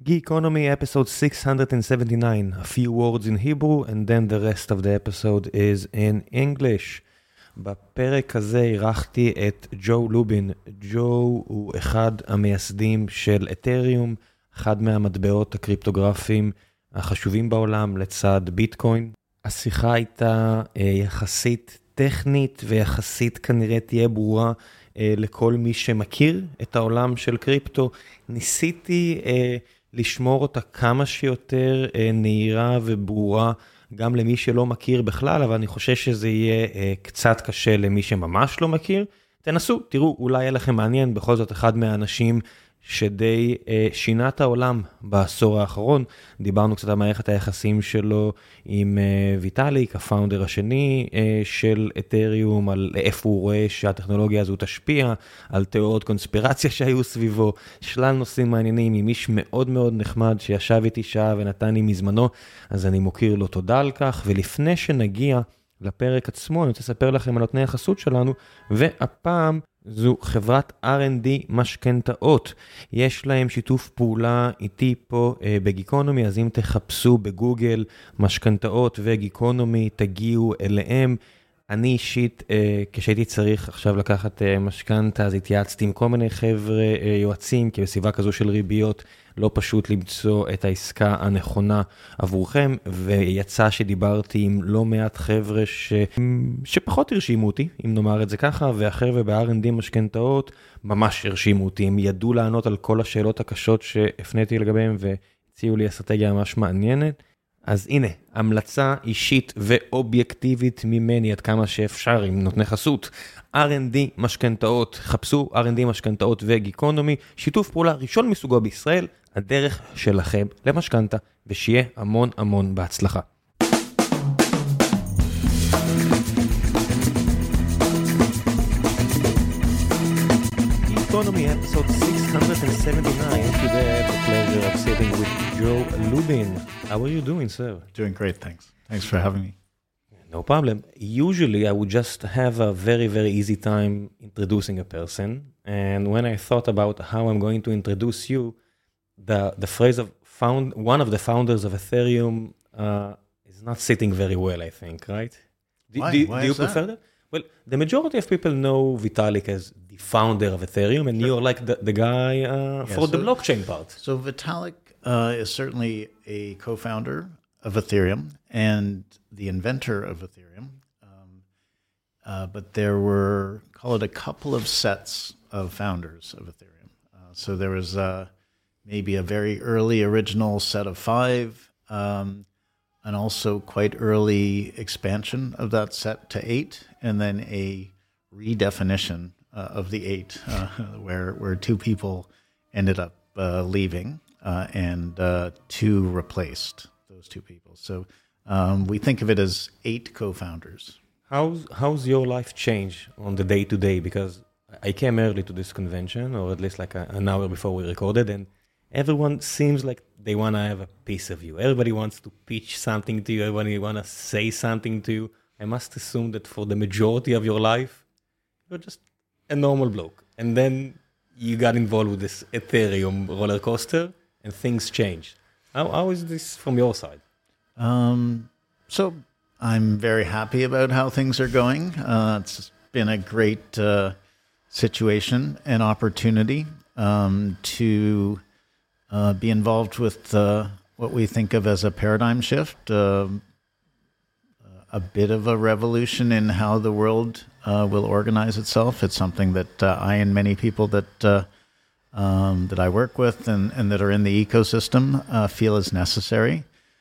Geekonomy episode 679, a few words in Hebrew and then the rest of the episode is in English. בפרק הזה אירחתי את ג'ו לובין. ג'ו הוא אחד המייסדים של אתריום, אחד מהמטבעות הקריפטוגרפיים החשובים בעולם לצד ביטקוין. השיחה הייתה יחסית טכנית ויחסית כנראה תהיה ברורה לכל מי שמכיר את העולם של קריפטו. ניסיתי לשמור אותה כמה שיותר נהירה וברורה גם למי שלא מכיר בכלל, אבל אני חושב שזה יהיה קצת קשה למי שממש לא מכיר. תנסו, תראו, אולי יהיה לכם מעניין, בכל זאת אחד מהאנשים שדי שינה את העולם בעשור האחרון. דיברנו קצת על מערכת היחסים שלו עם ויטאליק, הפאונדר השני של אתריום, על איפה הוא רואה שהטכנולוגיה הזו תשפיע, על תיאוריות קונספירציה שהיו סביבו, שלל נושאים מעניינים, עם איש מאוד מאוד נחמד שישב איתי שעה ונתן לי מזמנו, אז אני מוקיר לו תודה על כך. ולפני שנגיע לפרק עצמו, אני רוצה לספר לכם על נותני החסות שלנו, והפעם זו חברת R&D משכנתאות. יש להם שיתוף פעולה איתי פה בגיקונומי, אז אם תחפשו בגוגל משכנתאות וגיקונומי, תגיעו אליהם. אני אישית, כשהייתי צריך עכשיו לקחת משכנתה, אז התייעצתי עם כל מיני חבר'ה יועצים, כי בסביבה כזו של ריביות לא פשוט למצוא את העסקה הנכונה עבורכם, ויצא שדיברתי עם לא מעט חבר'ה שפחות הרשימו אותי, אם נאמר את זה ככה, והחבר'ה ב-R&D משכנתאות ממש הרשימו אותי, הם ידעו לענות על כל השאלות הקשות שהפניתי לגביהם, והציעו לי אסטרטגיה ממש מעניינת. אז הנה, המלצה אישית ואובייקטיבית ממני עד כמה שאפשר עם נותני חסות. R&D משכנתאות, חפשו R&D משכנתאות וגיקונומי, שיתוף פעולה ראשון מסוגו בישראל, הדרך שלכם למשכנתה, ושיהיה המון המון בהצלחה. Geekonomy episode 679. Today I have the pleasure of sitting with Joe Lubin. How are you doing, sir? Doing great, thanks. Thanks for having me. No problem. Usually I would just have a very, very easy time introducing a person. And when I thought about how I'm going to introduce you, the phrase of one of the founders of Ethereum is not sitting very well, I think, right? Why? Do you prefer that? Well, the majority of people know Vitalik as the founder of Ethereum, and you're like the guy for the blockchain part. So Vitalik is certainly a co-founder of Ethereum and the inventor of Ethereum. But there were, call it a couple of sets of founders of Ethereum. So there was maybe a very early original set of 5, and also quite early expansion of that set to 8, and then a redefinition of the 8, where 2 people ended up leaving, and 2 replaced those 2 people. So we think of it as 8 co-founders. How's your life change on the day-to-day? Because I came early to this convention, or at least like an hour before we recorded, and everyone seems like they want to have a piece of you. Everybody wants to pitch something to you. Everybody want to say something to you. I must assume that for the majority of your life, you're just a normal bloke. And then you got involved with this Ethereum roller coaster and things changed. How is this from your side? So I'm very happy about how things are going. It's been a great situation and opportunity to be involved with what we think of as a paradigm shift, a bit of a revolution in how the world will organize itself. It's something that I and many people that I work with and that are in the ecosystem feel is necessary.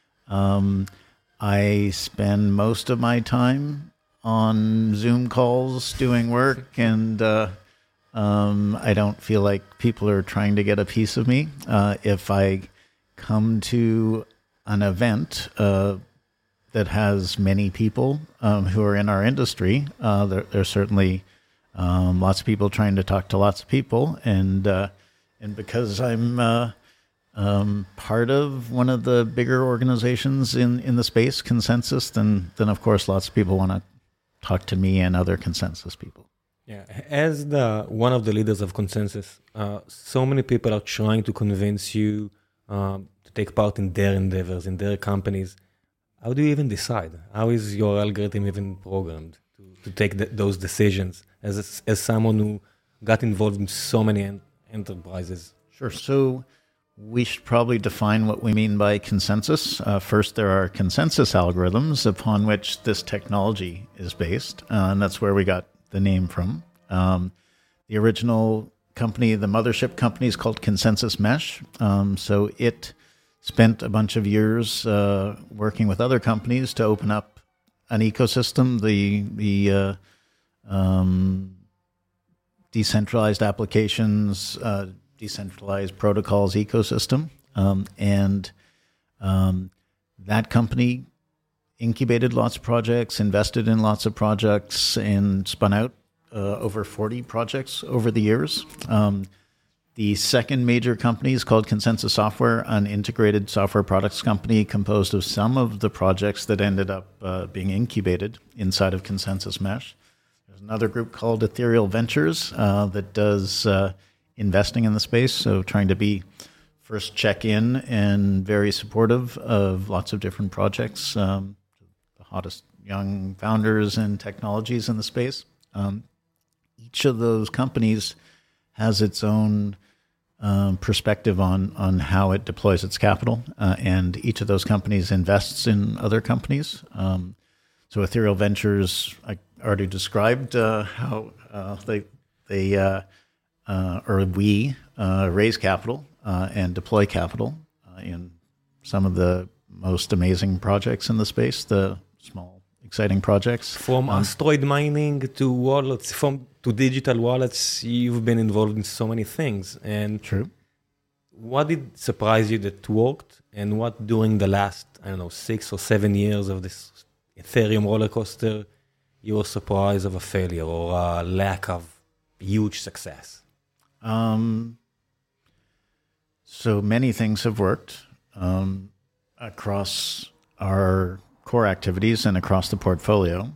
I spend most of my time on Zoom calls doing work, and I don't feel like people are trying to get a piece of me. If I come to an event that has many people who are in our industry, there's certainly lots of people trying to talk to lots of people, and because I'm part of one of the bigger organizations in the space, Consensus, then of course lots of people want to talk to me and other Consensus people. Yeah, as one of the leaders of Consensus, so many people are trying to convince you to take part in their endeavors, in their companies. How do you even decide? How is your algorithm even programmed to take those decisions as someone who got involved in so many enterprises? Sure. So we should probably define what we mean by consensus. First, there are consensus algorithms upon which this technology is based, and that's where we got the name from. The original company, the mothership company, is called Consensus Mesh. So it spent a bunch of years working with other companies to open up an ecosystem, the decentralized applications, decentralized protocols ecosystem. And that company incubated lots of projects, invested in lots of projects, and spun out over 40 projects over the years. The second major company is called Consensus Software, an integrated software products company composed of some of the projects that ended up being incubated inside of Consensus Mesh. There's another group called Ethereal Ventures that does investing in the space, so trying to be first check-in and very supportive of lots of different projects, the hottest young founders and technologies in the space. Each of those companies has its own perspective on how it deploys its capital, and each of those companies invests in other companies. So Ethereal Ventures, I already described how we raise capital and deploy capital in some of the most amazing projects in the space, the small, exciting projects. From asteroid mining to wallets, to digital wallets, you've been involved in so many things. And True. What did surprise you that worked, and what during the last, 6 or 7 years of this Ethereum roller coaster, you were surprised of a failure or a lack of huge success? So many things have worked across our core activities and across the portfolio.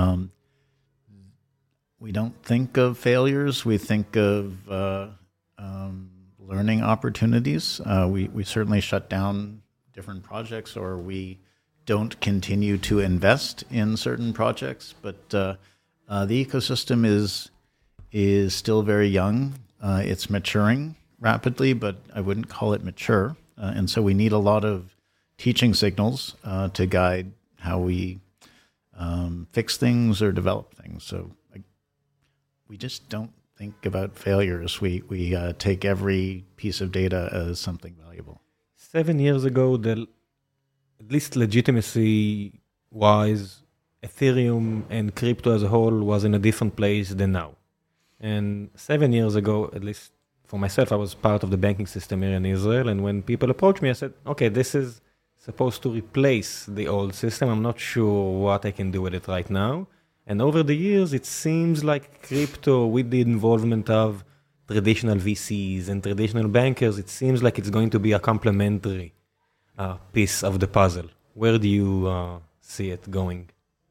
We don't think of failures. We think of learning opportunities. We certainly shut down different projects, or we don't continue to invest in certain projects. But the ecosystem is still very young. It's maturing rapidly, but I wouldn't call it mature. And so we need a lot of teaching signals to guide how we fix things or develop things. So we just don't think about failures. We take every piece of data as something valuable. 7 years ago, at least legitimacy-wise, Ethereum and crypto as a whole was in a different place than now. And 7 years ago, at least for myself, I was part of the banking system here in Israel. And when people approached me, I said, okay, this is supposed to replace the old system. I'm not sure what I can do with it right now. And over the years, it seems like crypto, with the involvement of traditional VCs and traditional bankers, it seems like it's going to be a complementary piece of the puzzle. Where do you see it going?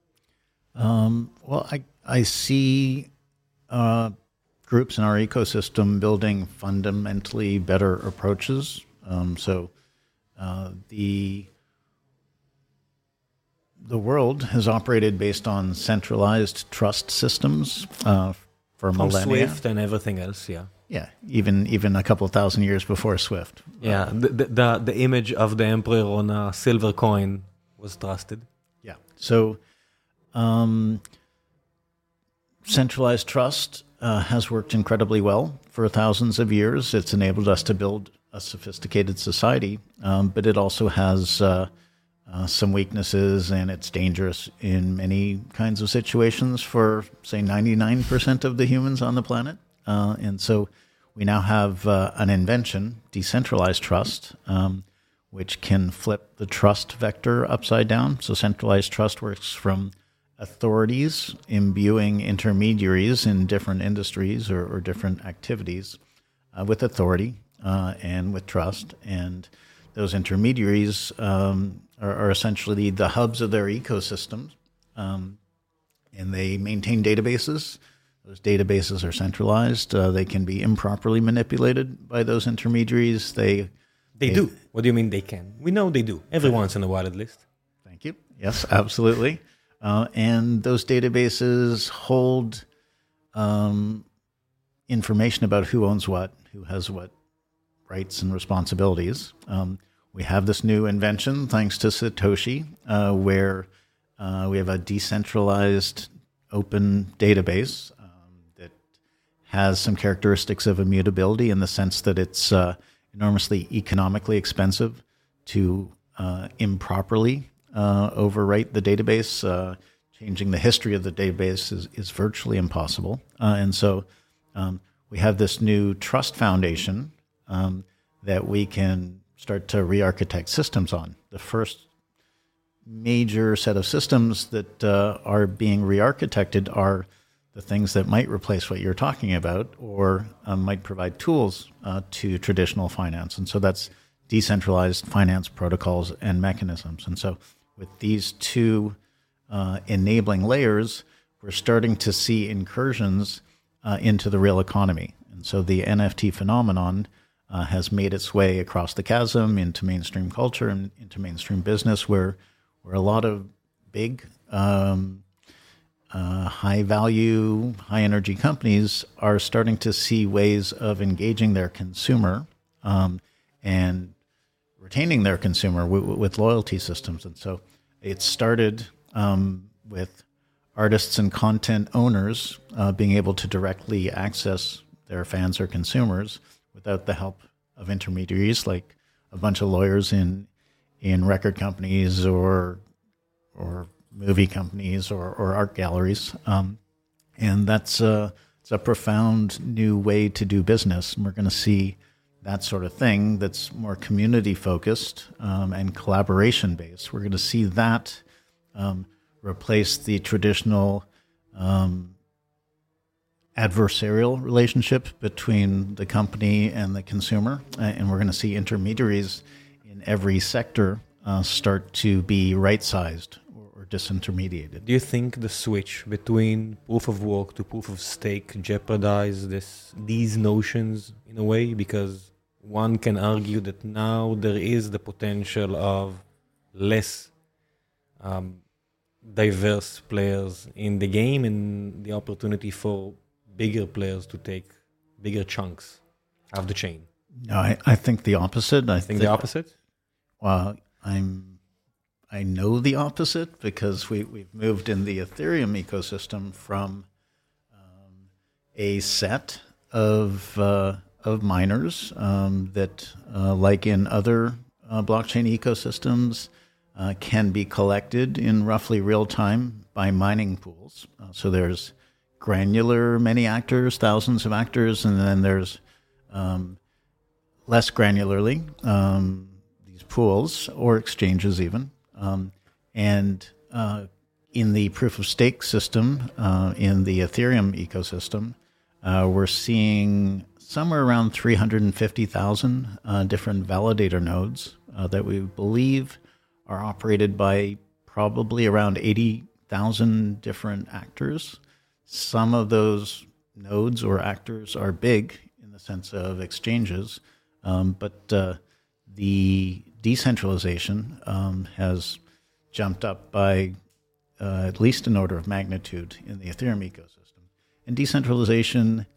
Well, I see groups in our ecosystem building fundamentally better approaches. The world has operated based on centralized trust systems for From millennia. Swift and everything else, yeah. Yeah, even a couple of thousand years before Swift. Yeah, the image of the emperor on a silver coin was trusted. Yeah. So centralized trust has worked incredibly well for thousands of years. It's enabled us to build a sophisticated society, but it also has some weaknesses, and it's dangerous in many kinds of situations for, say, 99% of the humans on the planet. And so we now have an invention, decentralized trust, which can flip the trust vector upside down. So centralized trust works from authorities imbuing intermediaries in different industries or different activities with authority and with trust. And those intermediaries are essentially the hubs of their ecosystems, and they maintain databases. Those databases are centralized. They can be improperly manipulated by those intermediaries. They They do. What do you mean they can? We know they do. Every once in a while, at least. Thank you. Yes, absolutely. And those databases hold information about who owns what, who has what rights and responsibilities. We have this new invention, thanks to Satoshi, where we have a decentralized open database that has some characteristics of immutability in the sense that it's enormously economically expensive to improperly overwrite the database. Changing the history of the database is virtually impossible. And so we have this new trust foundation that we can start to re-architect systems on. The first major set of systems that are being re-architected are the things that might replace what you're talking about or might provide tools to traditional finance. And so that's decentralized finance protocols and mechanisms. And so with these two enabling layers, we're starting to see incursions into the real economy. And so the NFT phenomenon has made its way across the chasm into mainstream culture and into mainstream business, where a lot of big, high-value, high-energy companies are starting to see ways of engaging their consumer and retaining their consumer with loyalty systems. And so it started with artists and content owners being able to directly access their fans or consumers without the help of intermediaries like a bunch of lawyers in record companies or movie companies or art galleries. And that's it's a profound new way to do business. And we're going to see that sort of thing that's more community-focused and collaboration-based. We're going to see that replace the traditional adversarial relationship between the company and the consumer. And we're going to see intermediaries in every sector start to be right-sized or disintermediated. Do you think the switch between proof of work to proof of stake jeopardize these notions in a way? Because one can argue that now there is the potential of less diverse players in the game and the opportunity for bigger players to take bigger chunks of the chain. No, I think the opposite. I think the opposite? Well, I know the opposite because we've moved in the Ethereum ecosystem from a set of miners that, like in other blockchain ecosystems, can be collected in roughly real time by mining pools. So there's granular many actors, thousands of actors, and then there's less granularly these pools or exchanges even. And in the proof of stake system, in the Ethereum ecosystem, we're seeing somewhere around 350,000 different validator nodes that we believe are operated by probably around 80,000 different actors. Some of those nodes or actors are big in the sense of exchanges, but the decentralization has jumped up by at least an order of magnitude in the Ethereum ecosystem. And decentralization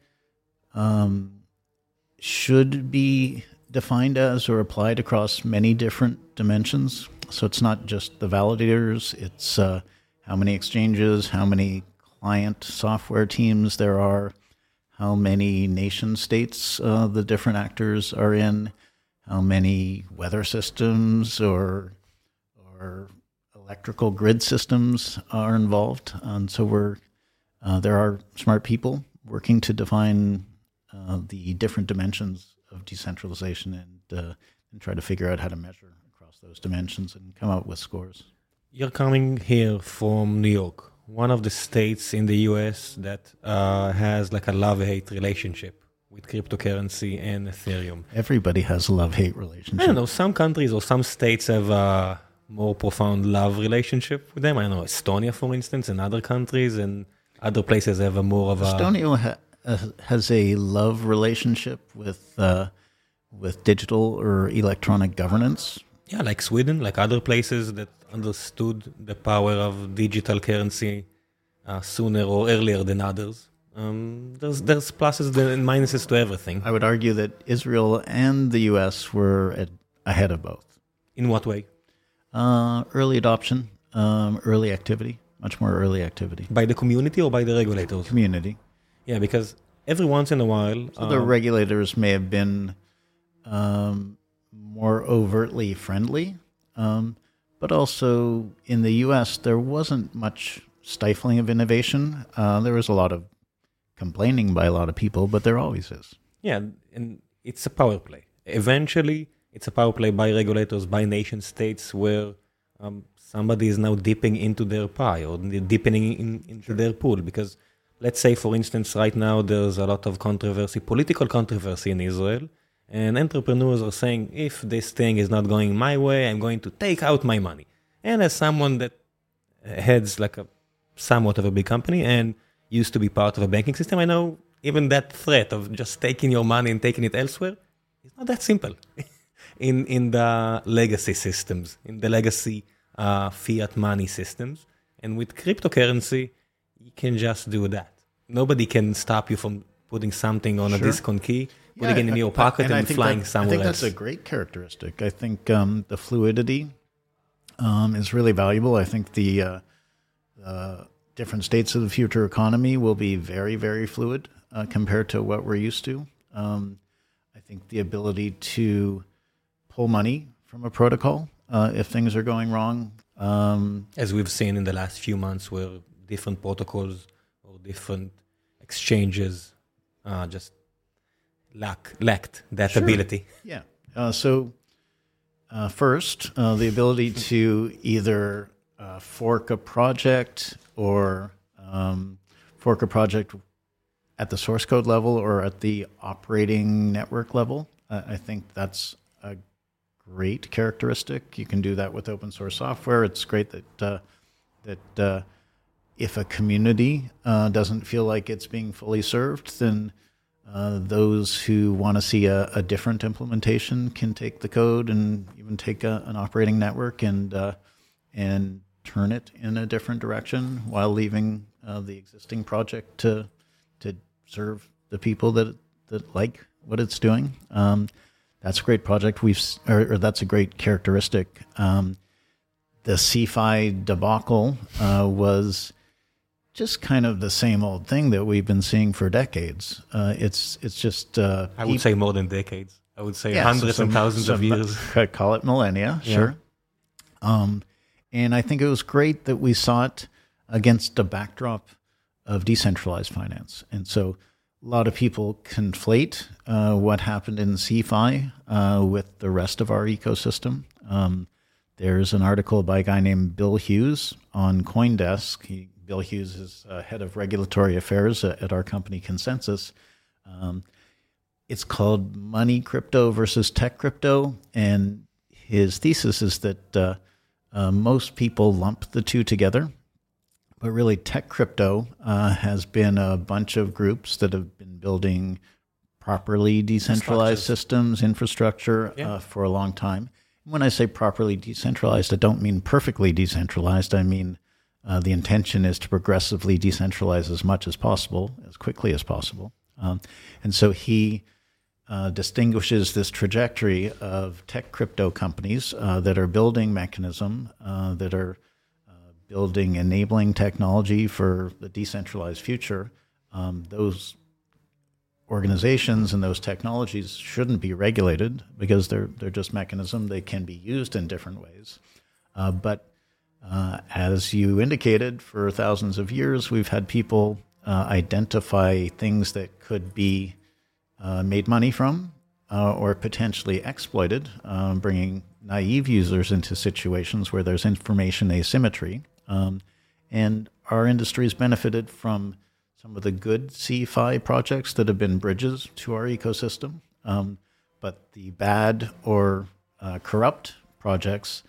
should be defined as or applied across many different dimensions. So it's not just the validators, it's how many exchanges, how many client software teams there are, how many nation states the different actors are in, how many weather systems or electrical grid systems are involved. And so there are smart people working to define the different dimensions of decentralization and try to figure out how to measure across those dimensions and come up with scores. You're coming here from New York, one of the states in the US that has like a love-hate relationship with cryptocurrency and Ethereum. Everybody has a love-hate relationship. I don't know, some countries or some states have a more profound love relationship with them. I don't know, Estonia, for instance, and other countries, and other places have a more of a... Estonia has a love relationship with with digital or electronic governance. Yeah, like Sweden, like other places that understood the power of digital currency sooner or earlier than others. There's pluses and minuses to everything. I would argue that Israel and the U.S. were ahead of both. In what way? Early adoption, early activity, much more early activity. By the community or by the regulators? Community. Yeah, because every once in a while... So the regulators may have been more overtly friendly, but also in the U.S. there wasn't much stifling of innovation. There was a lot of complaining by a lot of people, but there always is. Yeah, and it's a power play. Eventually, it's a power play by regulators, by nation states, where somebody is now dipping into their pie or deepening into their pool. Because let's say, for instance, right now there's a lot of controversy, political controversy in Israel, and entrepreneurs are saying, if this thing is not going my way, I'm going to take out my money. And as someone that heads like a somewhat of a big company and used to be part of a banking system, I know even that threat of just taking your money and taking it elsewhere is not that simple in the legacy systems, in the legacy fiat money systems. And with cryptocurrency, you can just do that. Nobody can stop you from putting something on a disk on key, putting it in your pocket and flying somewhere else. I think that's a great characteristic. I think the fluidity is really valuable. I think the different states of the future economy will be very, very fluid compared to what we're used to. I think the ability to pull money from a protocol if things are going wrong. As we've seen in the last few months where different protocols or different exchanges just lacked that ability. Yeah. So first, the ability to either fork a project or fork a project at the source code level or at the operating network level. I think that's a great characteristic. You can do that with open source software. It's great that if a community doesn't feel like it's being fully served, then those who want to see a different implementation can take the code and even take an operating network and turn it in a different direction while leaving the existing project to serve the people that like what it's doing. That's a great project. Or that's a great characteristic. The CeFi debacle was just kind of the same old thing that we've been seeing for decades. It's just I would say more than decades. I would say hundreds and thousands of years. Call it millennia, sure. And I think it was great that we saw it against a backdrop of decentralized finance. And so a lot of people conflate what happened in CeFi with the rest of our ecosystem. There's an article by a guy named Bill Hughes on CoinDesk. Bill Hughes is head of regulatory affairs at our company Consensus. It's called Money Crypto versus Tech Crypto. And his thesis is that most people lump the two together. But really, tech crypto has been a bunch of groups that have been building properly decentralized systems, infrastructure for a long time. When I say properly decentralized, I don't mean perfectly decentralized. I mean the intention is to progressively decentralize as much as possible, as quickly as possible. And so he distinguishes this trajectory of tech crypto companies that are building mechanism, that are building enabling technology for the decentralized future. Those organizations and those technologies shouldn't be regulated because they're just mechanism. They can be used in different ways. But as you indicated, for thousands of years, we've had people identify things that could be made money from or potentially exploited, bringing naive users into situations where there's information asymmetry. And our industry's benefited from some of the good CeFi projects that have been bridges to our ecosystem. But the bad or corrupt projects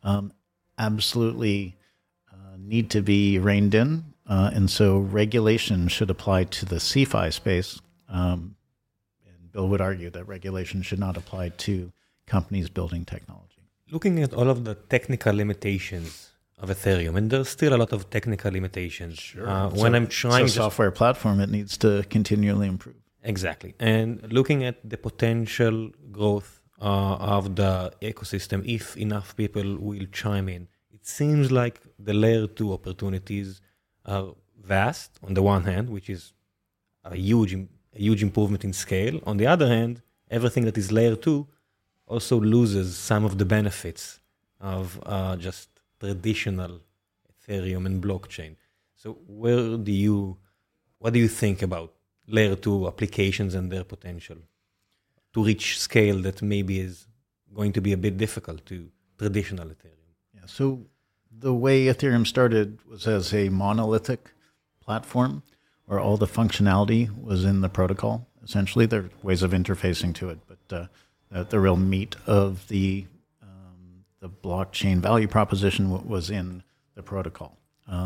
absolutely need to be reined in. And so regulation should apply to the CeFi space. And Bill would argue that regulation should not apply to companies building technology. Looking at all of the technical limitations of Ethereum, and there's still a lot of technical limitations. Sure. When I'm trying to software platform, it needs to continually improve. Exactly. And looking at the potential growth of the ecosystem, if enough people will chime in, it seems like the layer 2 opportunities are vast on the one hand, which is a huge improvement in scale. On the other hand, everything that is layer 2 also loses some of the benefits of just traditional Ethereum and blockchain. So what do you think about layer 2 applications and their potential to reach scale that maybe is going to be a bit difficult to traditional Ethereum? Yeah, so the way Ethereum started was as a monolithic platform where all the functionality was in the protocol. Essentially, there are ways of interfacing to it, but the real meat of the blockchain value proposition was in the protocol.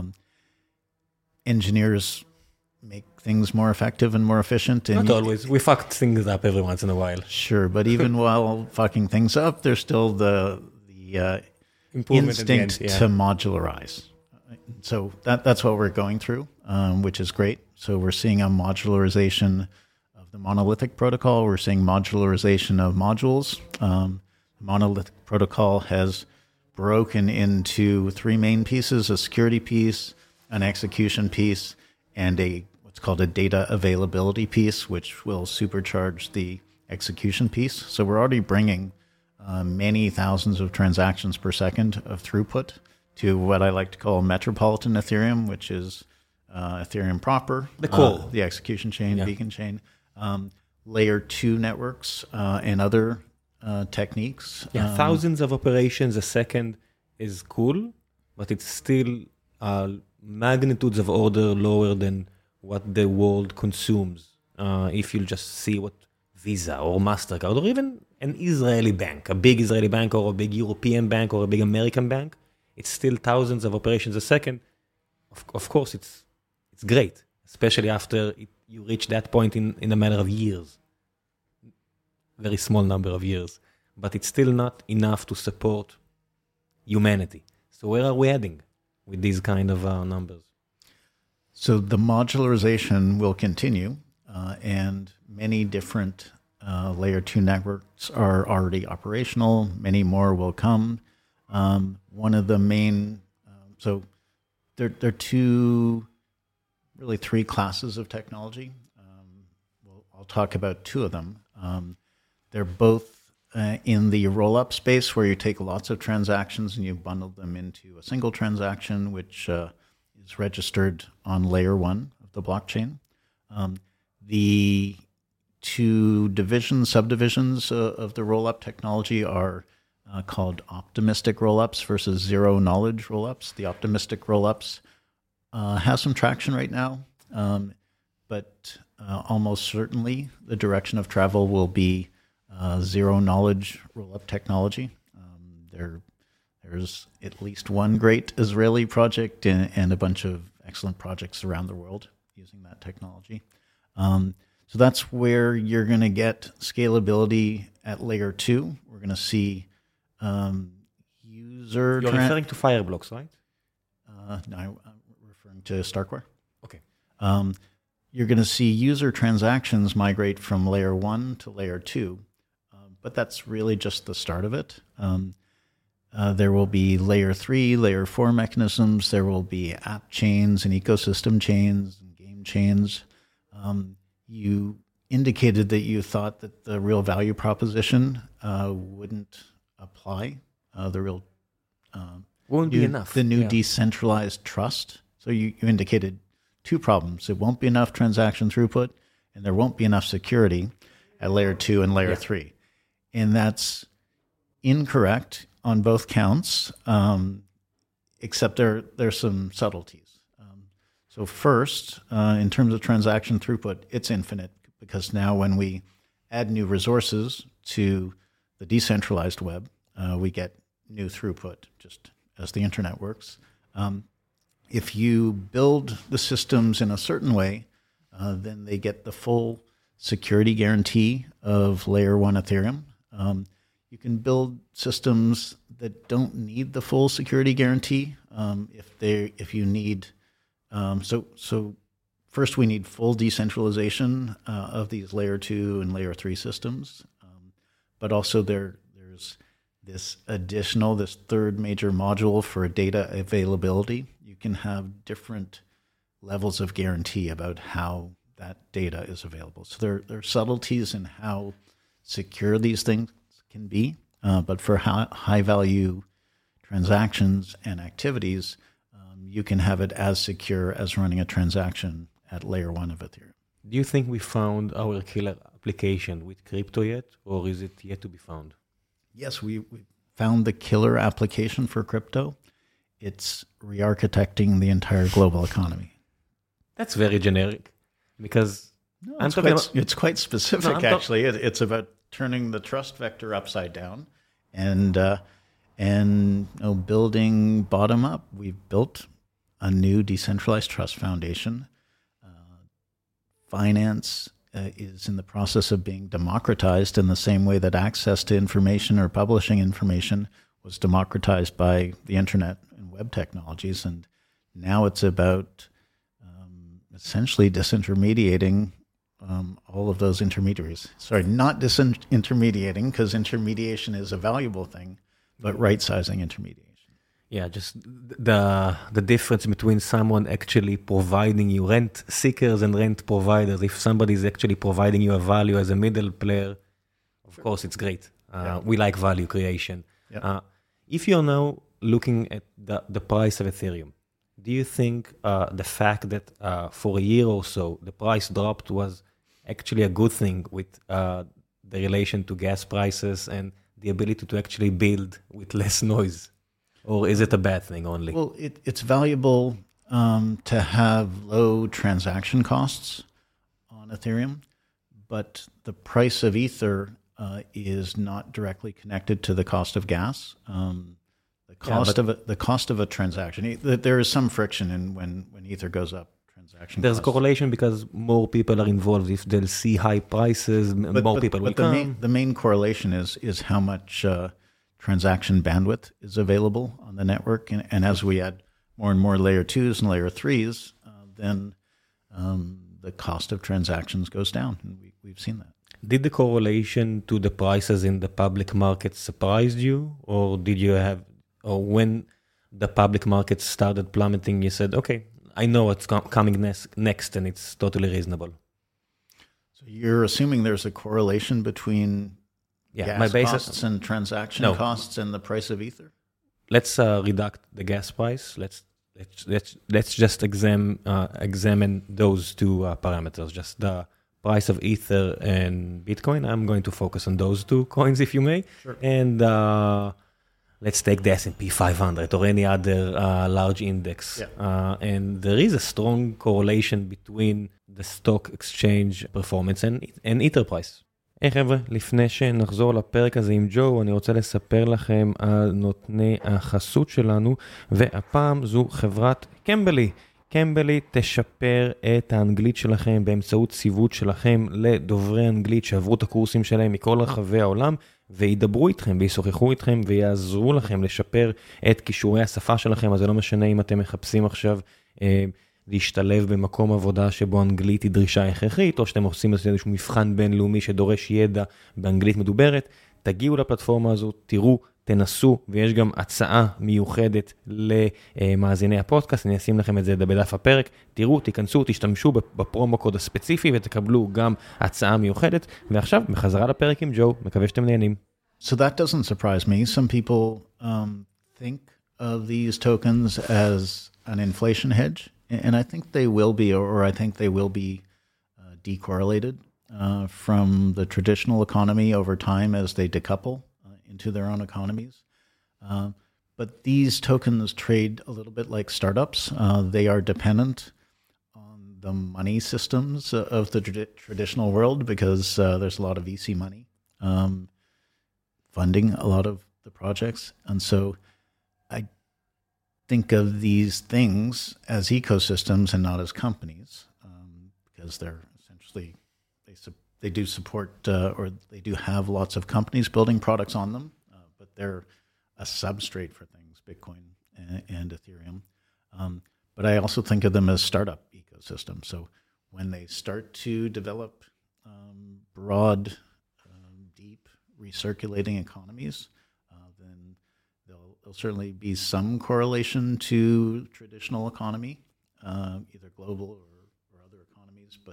Engineers make things more effective and more efficient. And Not always. We fucked things up every once in a while. Sure, but even while fucking things up, there's still the instinct to modularize. So that's what we're going through, which is great. So we're seeing a modularization of the monolithic protocol. We're seeing modularization of modules. The monolithic protocol has broken into three main pieces: a security piece, an execution piece, and what's called a data availability piece, which will supercharge the execution piece. So we're already bringing many thousands of transactions per second of throughput to what I like to call metropolitan Ethereum, which is Ethereum proper, the core, the execution chain, beacon chain, layer 2 networks, and other techniques. Thousands of operations a second is cool, but it's still magnitudes of order lower than what the world consumes. If you just see what Visa or MasterCard or even an Israeli bank, a big Israeli bank or a big European bank or a big American bank, it's still thousands of operations a second. Of course, it's great, especially after you reach that point in a matter of years. Very small number of years. But it's still not enough to support humanity. So where are we heading with these kind of numbers? So the modularization will continue, and many different layer 2 networks are already operational. Many more will come. One of the main, so there are three classes of technology. I'll talk about two of them. They're both in the roll-up space, where you take lots of transactions and you bundle them into a single transaction, which is registered on layer 1 of the blockchain. The two subdivisions of the roll-up technology are called optimistic roll-ups versus zero-knowledge roll-ups. The optimistic roll-ups have some traction right now, but almost certainly the direction of travel will be zero-knowledge roll-up technology. There's at least one great Israeli project and a bunch of excellent projects around the world using that technology. So that's where you're going to get scalability at layer 2. We're going to see user... You're referring to Fireblocks, right? No, I'm referring to Starkware. Okay. You're going to see user transactions migrate from layer 1 to layer 2, but that's really just the start of it. There will be layer 3, layer 4 mechanisms. There will be app chains and ecosystem chains and game chains. You indicated that you thought that the real value proposition wouldn't apply. Won't be enough. The new decentralized trust. So you indicated two problems. It won't be enough transaction throughput, and there won't be enough security at layer 2 and layer 3. And that's incorrect on both counts, except there's some subtleties. So first, in terms of transaction throughput, it's infinite, because now when we add new resources to the decentralized web, we get new throughput, just as the internet works. If you build the systems in a certain way, then they get the full security guarantee of layer 1 Ethereum. You can build systems that don't need the full security guarantee if you need. So first we need full decentralization of these layer 2 and layer 3 systems, but also there's this third major module for data availability. You can have different levels of guarantee about how that data is available. So there are subtleties in how secure these things can be, but for high value transactions and activities, you can have it as secure as running a transaction at layer 1 of Ethereum. Do you think we found our killer application with crypto yet, or is it yet to be found? Yes, we found the killer application for crypto. It's re-architecting the entire global economy. That's very generic, because it's quite specific, actually. It's about turning the trust vector upside down and building bottom up. We've built a new decentralized trust foundation. Finance is in the process of being democratized in the same way that access to information or publishing information was democratized by the internet and web technologies. And now it's about essentially disintermediating all of those intermediaries. Sorry, not disintermediating, because intermediation is a valuable thing, but right-sizing intermediation. Yeah, just the difference between someone actually providing you rent seekers and rent providers. If somebody is actually providing you a value as a middle player, of course, it's great. We like value creation. Yeah. If you're now looking at the price of Ethereum, do you think the fact that for a year or so the price dropped was actually a good thing with the relation to gas prices and the ability to actually build with less noise? Or is it a bad thing only? Well, it's valuable to have low transaction costs on Ethereum, but the price of Ether is not directly connected to the cost of gas. The cost of a transaction, there is some friction in when Ether goes up. There's a correlation because more people are involved. If they'll see high prices, more people will come. The main correlation is how much transaction bandwidth is available on the network. And as we add more and more layer 2s and layer 3s, then the cost of transactions goes down. And we've seen that. Did the correlation to the prices in the public market surprise you? Or when the public market started plummeting, you said, okay, I know what's coming next and it's totally reasonable? So you're assuming there's a correlation between gas costs and transaction costs and the price of Ether? Let's reduct the gas price. Let's just examine those two parameters, just the price of Ether and Bitcoin. I'm going to focus on those two coins, if you may. Sure. And let's take the S&P 500 or any other large index. Yeah. And there is a strong correlation between the stock exchange performance and Ether price. היי חבר'ה, לפני שנחזור לפרק הזה עם ג'ו, אני רוצה לספר לכם על נותני החסות שלנו, והפעם זו חברת קמבלי. קמבלי תשפר את האנגלית שלכם באמצעות ציוות שלכם לדוברי אנגלית שעברו את הקורסים שלהם מכל רחבי העולם, וידברו איתכם וישוחחו איתכם ויעזרו לכם לשפר את כישורי השפה שלכם. אז זה לא משנה אם אתם מחפשים עכשיו להשתלב במקום עבודה שבו אנגלית היא דרישה הכרחית, או שאתם עושים איזשהו מבחן בינלאומי שדורש ידע באנגלית מדוברת, תגיעו לפלטפורמה הזו, תראו, תנסו, ויש גם הצעה מיוחדת למאזיני הפודקאסט, אני אשים לכם את זה בדף הפרק, תראו, תיכנסו, תשתמשו בפרומו קוד הספציפי, ותקבלו גם הצעה מיוחדת, ועכשיו, בחזרה לפרק עם ג'ו, מקווה שאתם נהנים. So that doesn't surprise me. Some people think of these tokens as an inflation hedge, and I think they will be, or I think they will be decorrelated from the traditional economy over time as they decouple into their own economies. But these tokens trade a little bit like startups. They are dependent on the money systems of the traditional world because there's a lot of VC money funding a lot of the projects. And so I think of these things as ecosystems and not as companies because they're essentially, they they do support or they do have lots of companies building products on them, but they're a substrate for things, Bitcoin and Ethereum. But I also think of them as startup ecosystems. So when they start to develop broad, deep, recirculating economies, then there'll certainly be some correlation to traditional economy, either global or other economies, but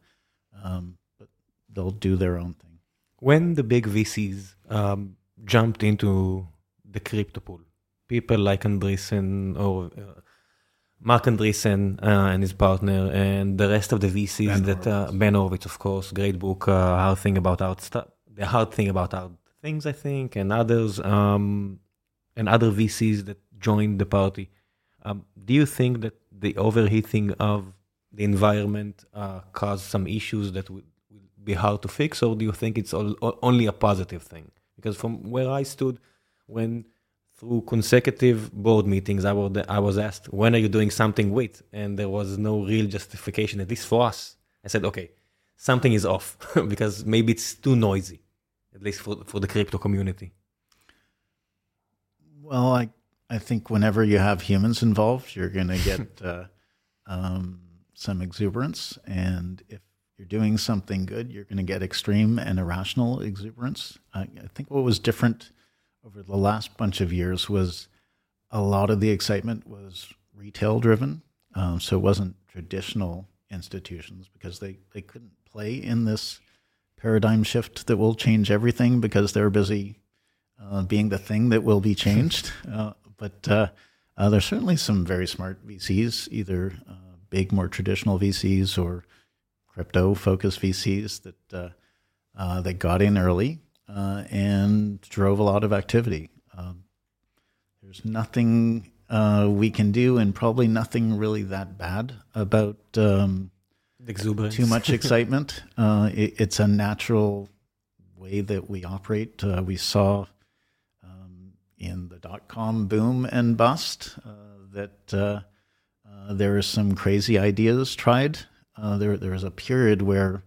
they'll do their own thing. When the big VCs jumped into the crypto pool, people like Andreessen or Mark Andreessen and his partner and the rest of the VCs Ben Horowitz, of course, great book, Hard Thing About Hard Stuff, The Hard Thing About Hard Things, I think, and others, and other VCs that joined the party. Do you think that the overheating of the environment caused some issues that will be hard to fix, or do you think it's only a positive thing? Because from where I stood, when through consecutive board meetings, I was asked, when are you doing something with? And there was no real justification, at least for us. I said, okay, something is off, because maybe it's too noisy, at least for the crypto community. Well, I think whenever you have humans involved, you're going to get some exuberance. And if you're doing something good, you're going to get extreme and irrational exuberance. I think what was different over the last bunch of years was a lot of the excitement was retail driven. So it wasn't traditional institutions, because they couldn't play in this paradigm shift that will change everything, because they're busy being the thing that will be changed. But there's certainly some very smart VCs, either big, more traditional VCs or crypto-focused VCs that got in early and drove a lot of activity. There's nothing we can do, and probably nothing really that bad about exuberance. Too much excitement. It's a natural way that we operate. We saw in the dot-com boom and bust that there are some crazy ideas tried. There was a period where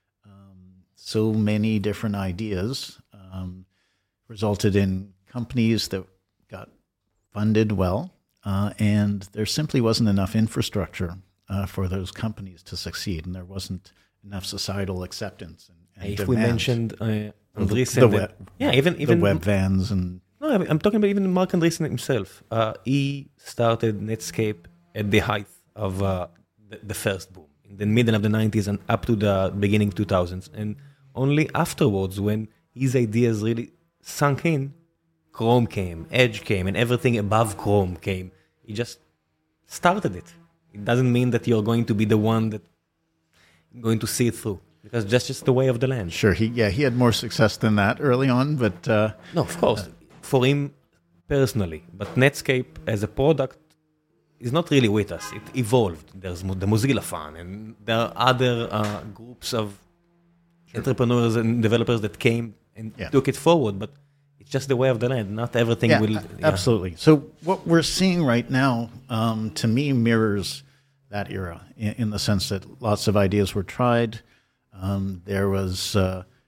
so many different ideas resulted in companies that got funded well, and there simply wasn't enough infrastructure for those companies to succeed, and there wasn't enough societal acceptance and if demand. we mentioned the web vans and... No, I'm talking about even Mark Andreessen himself. He started Netscape at the height of the first boom, in the middle of the 90s and up to the beginning 2000s. And only afterwards, when his ideas really sunk in, Chrome came, Edge came, and everything above Chrome came. He just started it. It doesn't mean that you're going to be the one that going to see it through, because that's just the way of the land. Sure, he had more success than that early on, but... No, of course, for him personally. But Netscape as a product is not really with us. It evolved. There's the Mozilla Fund, and there are other groups of entrepreneurs and developers that came and took it forward, but it's just the way of the land. Not everything will... Absolutely. So what we're seeing right now, to me, mirrors that era in the sense that lots of ideas were tried. There was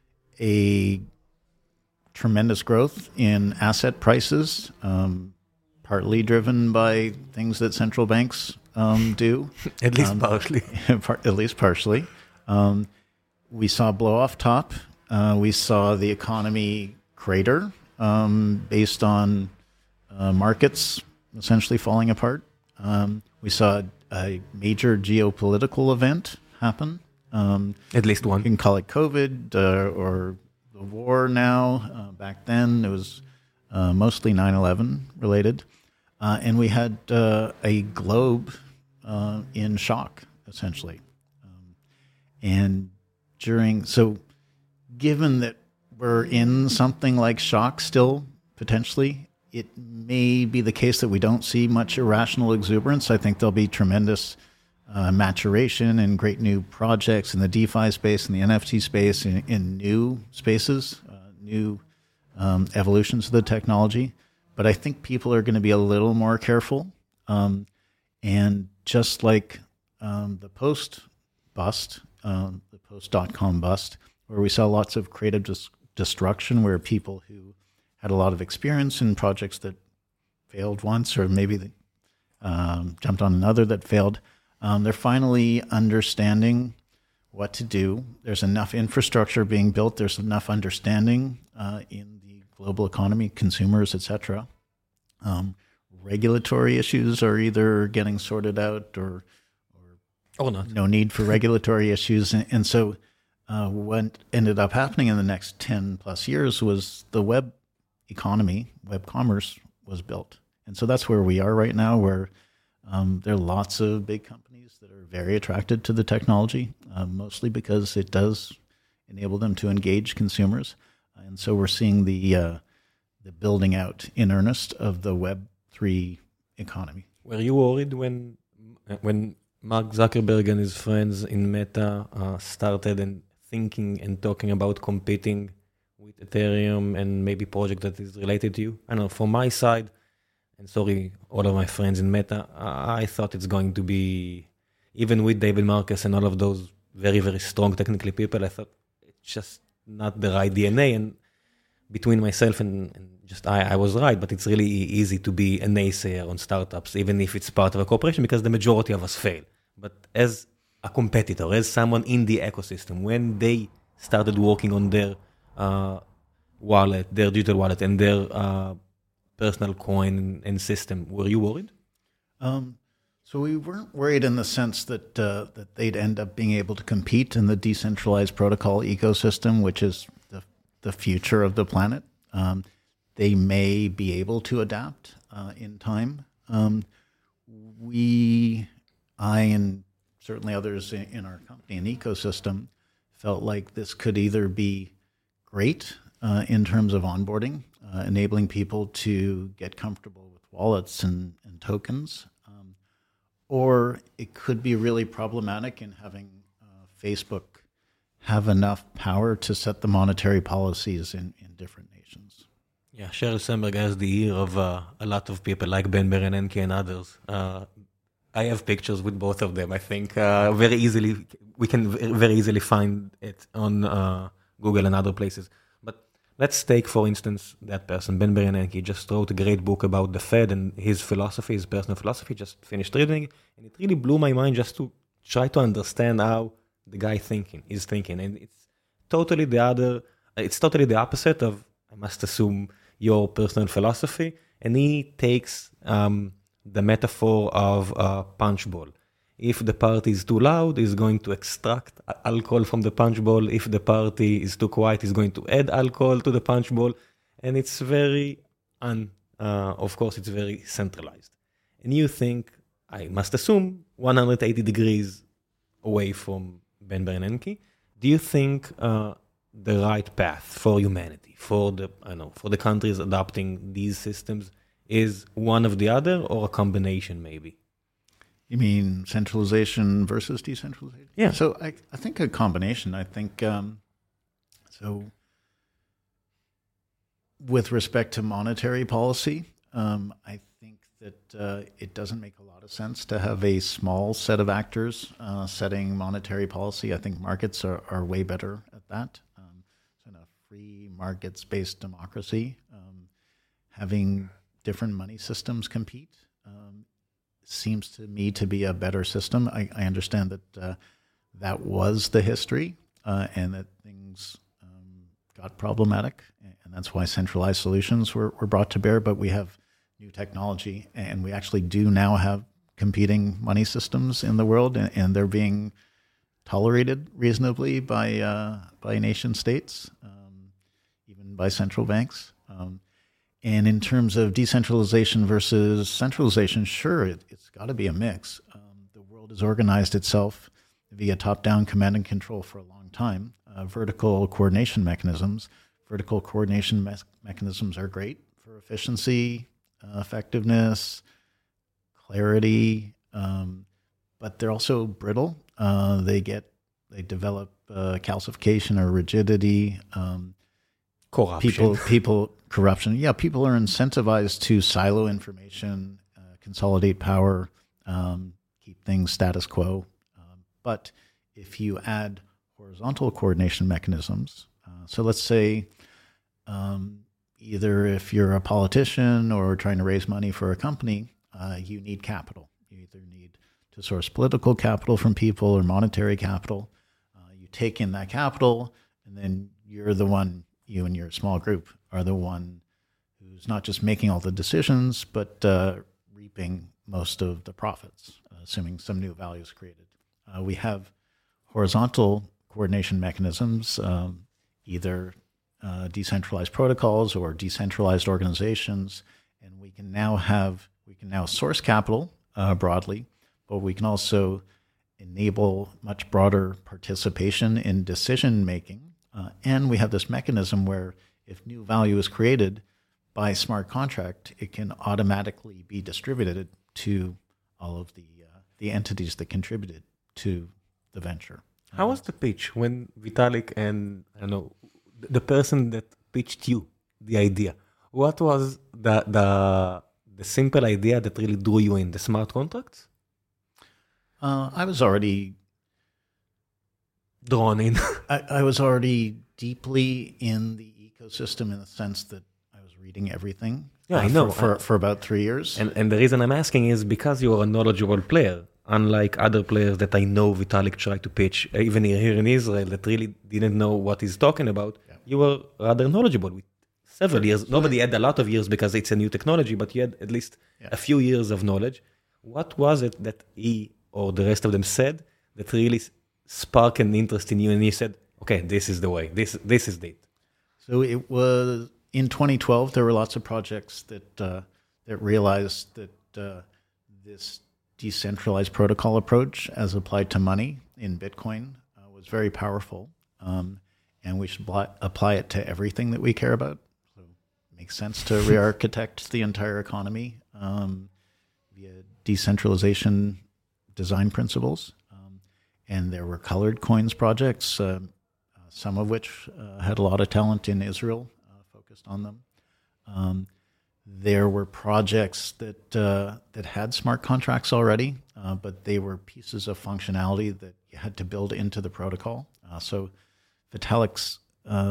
a tremendous growth in asset prices, partly driven by things that central banks do. At least partially. At least partially. We saw blow off top. We saw the economy crater based on markets essentially falling apart. We saw a major geopolitical event happen. At least one. You can call it COVID or the war now. Back then, it was mostly 9/11 related. And we had a globe in shock, essentially. Given that we're in something like shock still, potentially, it may be the case that we don't see much irrational exuberance. I think there'll be tremendous maturation and great new projects in the DeFi space and the NFT space, in new spaces, new evolutions of the technology. But I think people are going to be a little more careful. And just like the post-bust, the post.com bust, where we saw lots of creative destruction, where people who had a lot of experience in projects that failed once, or maybe they jumped on another that failed, they're finally understanding what to do. There's enough infrastructure being built. There's enough understanding in the global economy, consumers, etc. Regulatory issues are either getting sorted out or not. No need for regulatory issues. And so what ended up happening in the next 10 plus years was the web economy, web commerce was built. And so that's where we are right now, where there are lots of big companies that are very attracted to the technology, mostly because it does enable them to engage consumers. And so we're seeing the building out in earnest of the Web3 economy. Were you worried when Mark Zuckerberg and his friends in Meta started and thinking and talking about competing with Ethereum and maybe project that is related to you? I don't know, from my side, and sorry, all of my friends in Meta, I thought it's going to be, even with David Marcus and all of those very, very strong technically people, I thought it's just not the right DNA. And between myself and just I was right, but it's really easy to be a naysayer on startups, even if it's part of a corporation, because the majority of us fail. But as a competitor, as someone in the ecosystem, when they started working on their wallet, their digital wallet, and their personal coin and system, were you worried? So we weren't worried in the sense that that they'd end up being able to compete in the decentralized protocol ecosystem, which is the future of the planet. They may be able to adapt in time. I and certainly others in our company and ecosystem felt like this could either be great in terms of onboarding, enabling people to get comfortable with wallets and tokens, or it could be really problematic in having Facebook have enough power to set the monetary policies in different nations. Yeah, Sheryl Sandberg has the ear of a lot of people like Ben Bernanke and others. I have pictures with both of them. I think we can very easily find it on Google and other places. But let's take, for instance, that person, Ben Bernanke, just wrote a great book about the Fed and his philosophy, his personal philosophy, just finished reading, and it really blew my mind just to try to understand how the guy is thinking. And it's totally the opposite of, I must assume, your personal philosophy. And he takes the metaphor of a punch bowl. If the party is too loud, he's going to extract alcohol from the punch bowl. If the party is too quiet, he's going to add alcohol to the punch bowl. And it's very, of course, it's very centralized. And you think, I must assume, 180 degrees away from Ben Bernanke. Do you think the right path for humanity, for the countries adopting these systems, is one of the other, or a combination maybe? You mean centralization versus decentralization? Yeah. So I think a combination. I think so. With respect to monetary policy, I think that it doesn't make a lot of sense to have a small set of actors setting monetary policy. I think markets are way better at that. So in a free markets-based democracy, having different money systems compete seems to me to be a better system. I understand that that was the history and that things got problematic, and that's why centralized solutions were brought to bear. But we have new technology, and we actually do now have competing money systems in the world, and they're being tolerated reasonably by nation states, even by central banks. And in terms of decentralization versus centralization, sure, it's got to be a mix. The world has organized itself via top-down command and control for a long time. Vertical coordination mechanisms. Vertical coordination mechanisms are great for efficiency, effectiveness, clarity, but they're also brittle. They develop calcification or rigidity. Corruption. People corruption. Yeah, people are incentivized to silo information, consolidate power, keep things status quo. But if you add horizontal coordination mechanisms. So let's say either if you're a politician or trying to raise money for a company, you need capital. You either need to source political capital from people or monetary capital. You take in that capital, and then you're the one, you and your small group are the one who's not just making all the decisions, but reaping most of the profits, assuming some new value is created. We have horizontal coordination mechanisms, either decentralized protocols or decentralized organizations, and we can now source capital broadly, but we can also enable much broader participation in decision making. And we have this mechanism where if new value is created by smart contract, it can automatically be distributed to all of the entities that contributed to the venture. How was the pitch when Vitalik and, I don't know, the person that pitched you the idea? What was the simple idea that really drew you in, the smart contracts? I was already drawn in. I was already deeply in the ecosystem in the sense that I was reading everything. Yeah, I know. For about 3 years. And the reason I'm asking is because you are a knowledgeable player, unlike other players that I know Vitalik tried to pitch, even here in Israel, that really didn't know what he's talking about. Yeah. You were rather knowledgeable with several years. Nobody had a lot of years because it's a new technology, but you had at least a few years of knowledge. What was it that he or the rest of them said that really sparked an interest in you and he said, okay, this is the way, this is it? So it was in 2012, there were lots of projects that realized that this decentralized protocol approach as applied to money in Bitcoin was very powerful. And we should apply it to everything that we care about. So it makes sense to re-architect the entire economy via decentralization design principles. And there were colored coins projects, some of which had a lot of talent in Israel, focused on them. There were projects that had smart contracts already, but they were pieces of functionality that you had to build into the protocol. So Vitalik's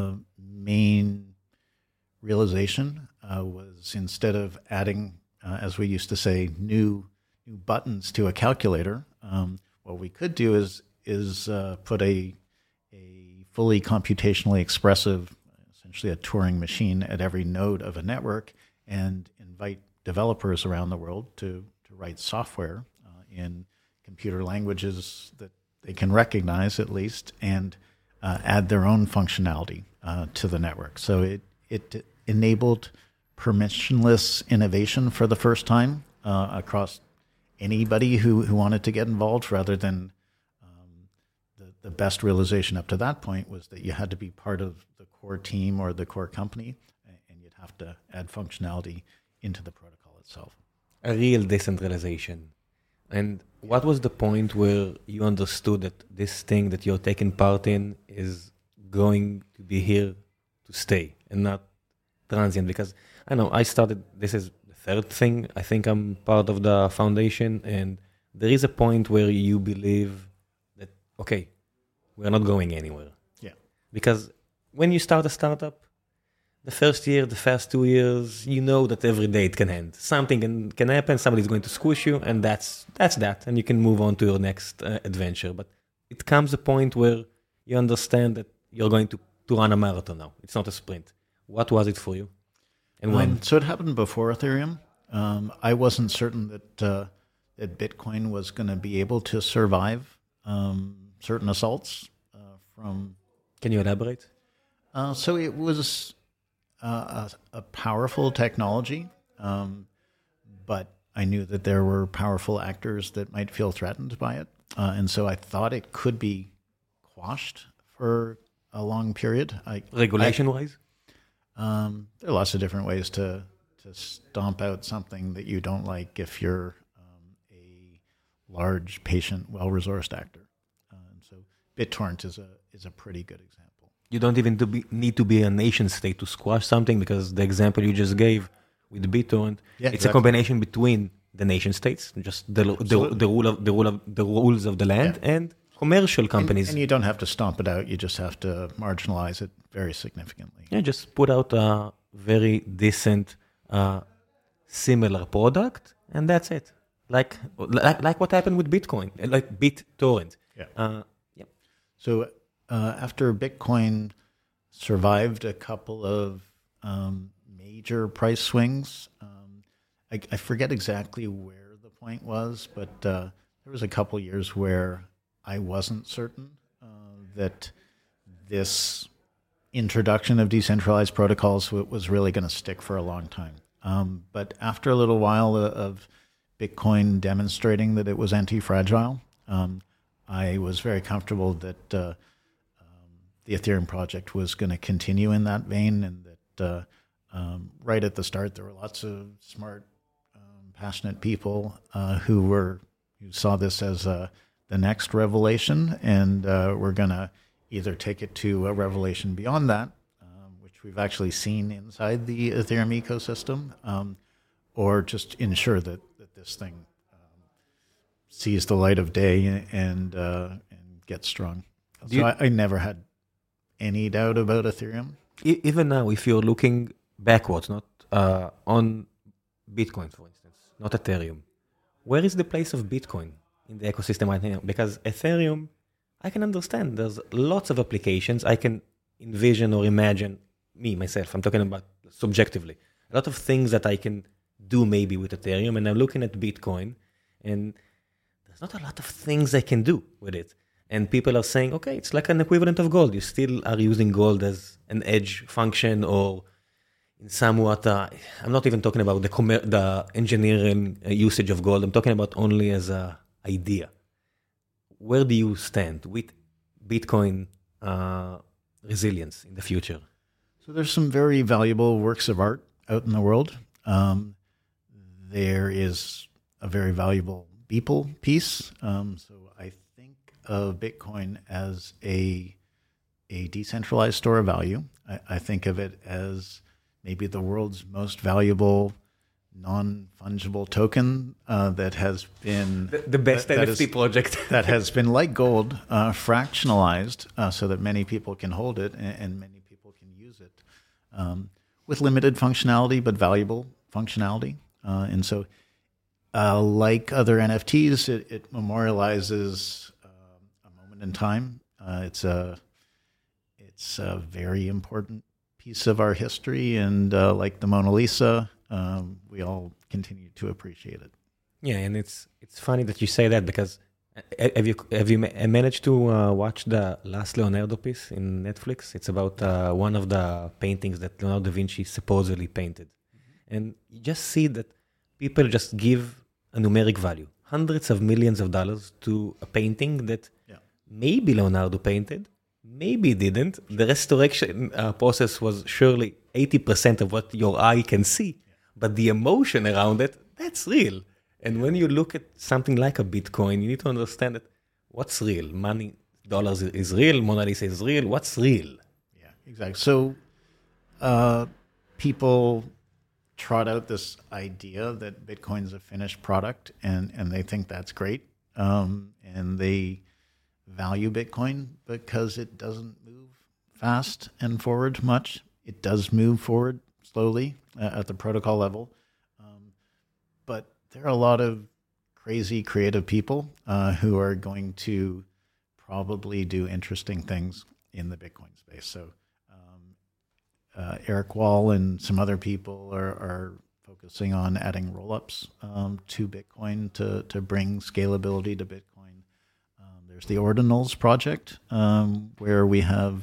main realization was instead of adding, as we used to say, new buttons to a calculator, what we could do is put a fully computationally expressive, essentially a Turing machine at every node of a network, and invite developers around the world to write software in computer languages that they can recognize at least, and add their own functionality to the network. So it enabled permissionless innovation for the first time across anybody who wanted to get involved, rather than the best realization up to that point was that you had to be part of the core team or the core company, and you'd have to add functionality into the protocol itself. A real decentralization. And what was the point where you understood that this thing that you're taking part in is going to be here to stay and not transient? Because I know I started, this is the third thing, I think I'm part of the foundation, and there is a point where you believe that, okay, we're not going anywhere. Yeah. Because when you start a startup, the first year, the first 2 years, you know that every day it can end. Something can happen, somebody's going to squish you, and that's that. And you can move on to your next adventure. But it comes a point where you understand that you're going to run a marathon now. It's not a sprint. What was it for you? And when? So it happened before Ethereum. I wasn't certain that Bitcoin was going to be able to survive certain assaults from... Can you elaborate? So it was a powerful technology, but I knew that there were powerful actors that might feel threatened by it. And so I thought it could be quashed for a long period. Regulation-wise? There are lots of different ways to stomp out something that you don't like if you're a large, patient, well-resourced actor. So BitTorrent is a pretty good example. You don't even need to be a nation state to squash something, because the example you just gave with BitTorrent, it's a combination between the nation states, just the rules of the land, and commercial companies. And you don't have to stomp it out. You just have to marginalize it very significantly. Yeah, just put out a very decent, similar product, and that's it. Like what happened with Bitcoin, like BitTorrent. Yeah. Yeah. So after Bitcoin survived a couple of major price swings, I forget exactly where the point was, but there was a couple years where I wasn't certain that this introduction of decentralized protocols was really going to stick for a long time. But after a little while of Bitcoin demonstrating that it was anti-fragile, I was very comfortable that the Ethereum project was going to continue in that vein, and that right at the start there were lots of smart, passionate people who saw this as the next revelation, and we're going to either take it to a revelation beyond that, which we've actually seen inside the Ethereum ecosystem, or just ensure that this thing sees the light of day and gets strong. So I never had any doubt about Ethereum. Even now, if you're looking backwards, not on Bitcoin, for instance, not Ethereum, where is the place of Bitcoin in the ecosystem right now? Because Ethereum, I can understand. There's lots of applications. I can envision or imagine, myself, I'm talking about subjectively, a lot of things that I can do maybe with Ethereum, and I'm looking at Bitcoin, and there's not a lot of things I can do with it. And people are saying, okay, it's like an equivalent of gold. You still are using gold as an edge function, or in somewhat, I'm not even talking about the engineering usage of gold. I'm talking about only as an idea. Where do you stand with Bitcoin resilience in the future? So there's some very valuable works of art out in the world. There is a very valuable Beeple piece. So I think of Bitcoin as a decentralized store of value. I think of it as maybe the world's most valuable non-fungible token that has been the best NFT project that has been, like gold, fractionalized so that many people can hold it and many people can use it with limited functionality but valuable functionality. And so, like other NFTs, it memorializes a moment in time. It's a very important piece of our history, and like the Mona Lisa, we all continue to appreciate it. Yeah, and it's funny that you say that, because have you managed to watch the last Leonardo piece in Netflix? It's about one of the paintings that Leonardo da Vinci supposedly painted. Mm-hmm. And you just see that people just give a numeric value, hundreds of millions of dollars, to a painting that maybe Leonardo painted, maybe didn't. The restoration process was surely 80% of what your eye can see, but the emotion around it, that's real. And when you look at something like a Bitcoin, you need to understand that what's real. Money, dollars is real, Mona Lisa is real. What's real? Yeah, exactly. So people trot out this idea that Bitcoin's a finished product, and they think that's great. And they value Bitcoin because it doesn't move fast and forward much. It does move forward slowly at the protocol level. But there are a lot of crazy creative people who are going to probably do interesting things in the Bitcoin space. So Eric Wall and some other people are focusing on adding rollups to Bitcoin to bring scalability to Bitcoin. There's the Ordinals project, where we have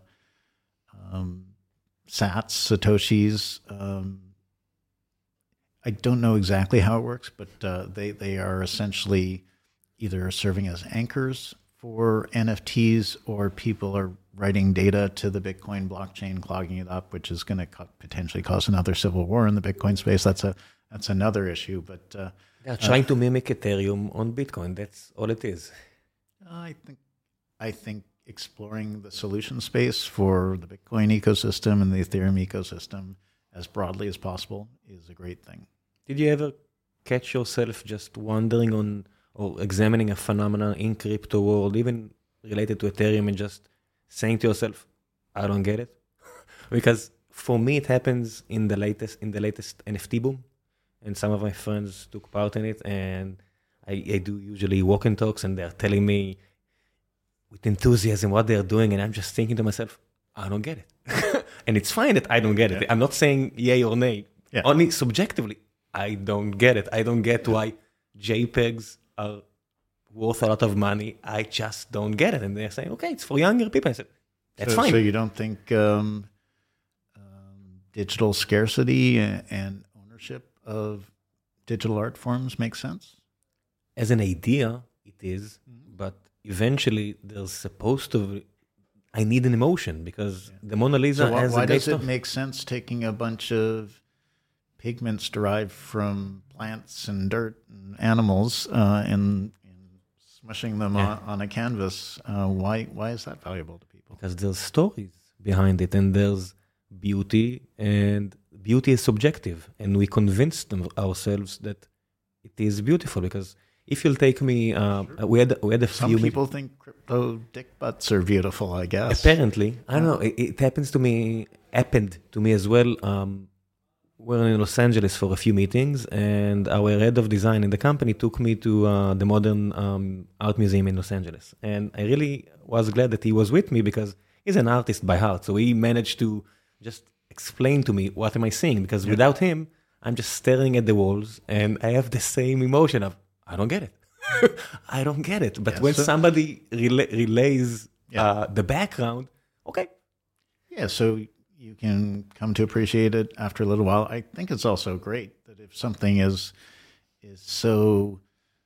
sats, Satoshis. I don't know exactly how it works, but they are essentially either serving as anchors for NFTs, or people are writing data to the Bitcoin blockchain, clogging it up, which is going to potentially cause another civil war in the Bitcoin space. That's another issue. But they're trying to mimic Ethereum on Bitcoin. That's all it is. I think exploring the solution space for the Bitcoin ecosystem and the Ethereum ecosystem as broadly as possible is a great thing. Did you ever catch yourself just wondering on or examining a phenomenon in crypto world, even related to Ethereum, and just saying to yourself, I don't get it. Because for me, it happens in the latest NFT boom. And some of my friends took part in it, and I do usually walk and talks, and they're telling me with enthusiasm what they're doing, and I'm just thinking to myself, I don't get it. And it's fine that I don't get it. I'm not saying yay or nay. Yeah. Only subjectively, I don't get it. I don't get why JPEGs are worth a lot of money. I just don't get it. And they're saying, okay, it's for younger people. I said, that's fine. So you don't think digital scarcity and ownership of digital art forms makes sense? As an idea, it is, but eventually there's supposed to. I need an emotion because the Mona Lisa has why a great does it story. make sense taking a bunch of pigments derived from plants and dirt and animals and smushing them on a canvas? Why is that valuable to people? Because there's stories behind it, and there's beauty, and beauty is subjective, and we convince ourselves that it is beautiful. Because if you'll take me, we had a Some few. people think crypto dick butts are beautiful, I guess. Apparently, I don't know. It happened to me as well. We're in Los Angeles for a few meetings, and our head of design in the company took me to the Modern Art Museum in Los Angeles. And I really was glad that he was with me because he's an artist by heart. So he managed to just explain to me what am I seeing, because without him, I'm just staring at the walls and I have the same emotion of, I don't get it. I don't get it. But when somebody relays the background, okay. Yeah, so you can come to appreciate it after a little while. I think it's also great that if something is so